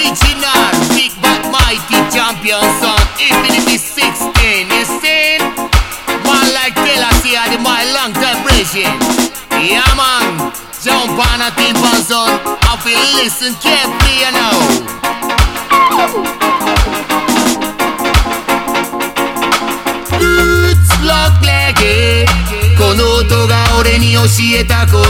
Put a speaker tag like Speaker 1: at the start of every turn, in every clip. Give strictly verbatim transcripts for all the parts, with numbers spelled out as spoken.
Speaker 1: Original, big but mighty champion son. Infinity sixteen, you seen? Man like Telassie are the my long time bridging. Yeah man, jump on a timpan son. I feel listen carefully you know. Roots lock leggy. この音が俺に教えたこと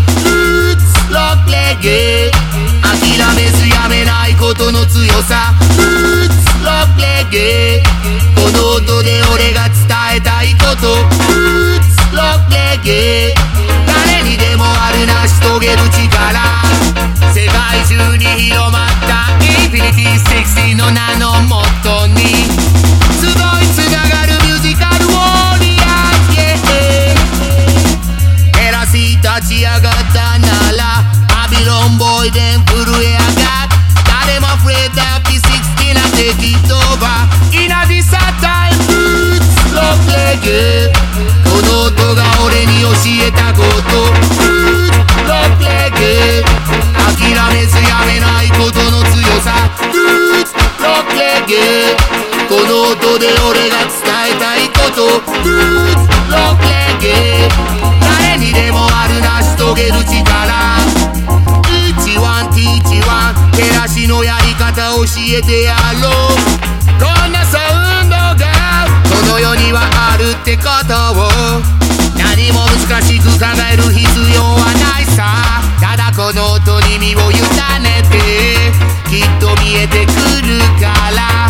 Speaker 1: 。Roots lock leggy。諦めずやめないことの強さ。Roots lock leggy。この音で俺が伝えたいこと。Roots lock leggy。誰にでもある成し遂げる力。世界中に広まったインフィニティシックスティーンの名のもとに集いつながるミュージカルウォリアーズ、yeah。テラシー立ち上がったならバビロンボーイで震え上がっ誰も afraid that P sixteen and take it over in a this time roots lock leggy。この音が俺に教えたこと Roots lock leggy。諦めずやめないことの強さ Roots lock leggy。この音で俺が伝えたいこと Roots lock leggy。誰にでもある成し遂げる力。一ワンティーチワン照らしのやり方教えてやろう。こんなサウンドがこの世にはあるってことを何も難しく考える必要はないさ。ただこの音に身を委ねてきっと見えてくるから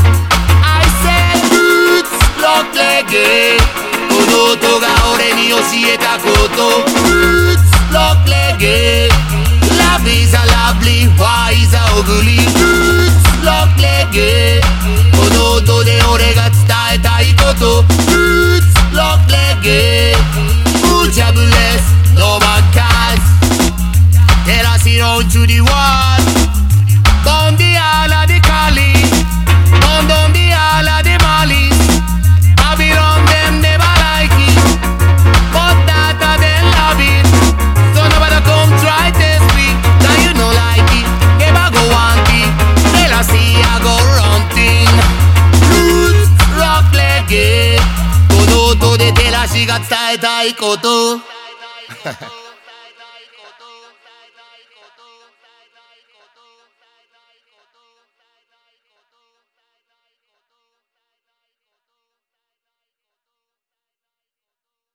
Speaker 1: I say roots lock leggy。 この音が俺に教えたこと Roots lock leggy。 Love is a lovely, why is a ugly Roots lock leggy。 この音で俺が伝えたいこと Roots lock leggy。 Uja bless, no man can tell us it on to the world。 Bon the ala the Kali, bon don the ala the Mali。 Babylon them never like it, but that a them love it。 So nobody come try test me, now you no like it, never go want it。 Tell us see I go run thing Roots lock leggy。 この音で照らしが伝えたいこと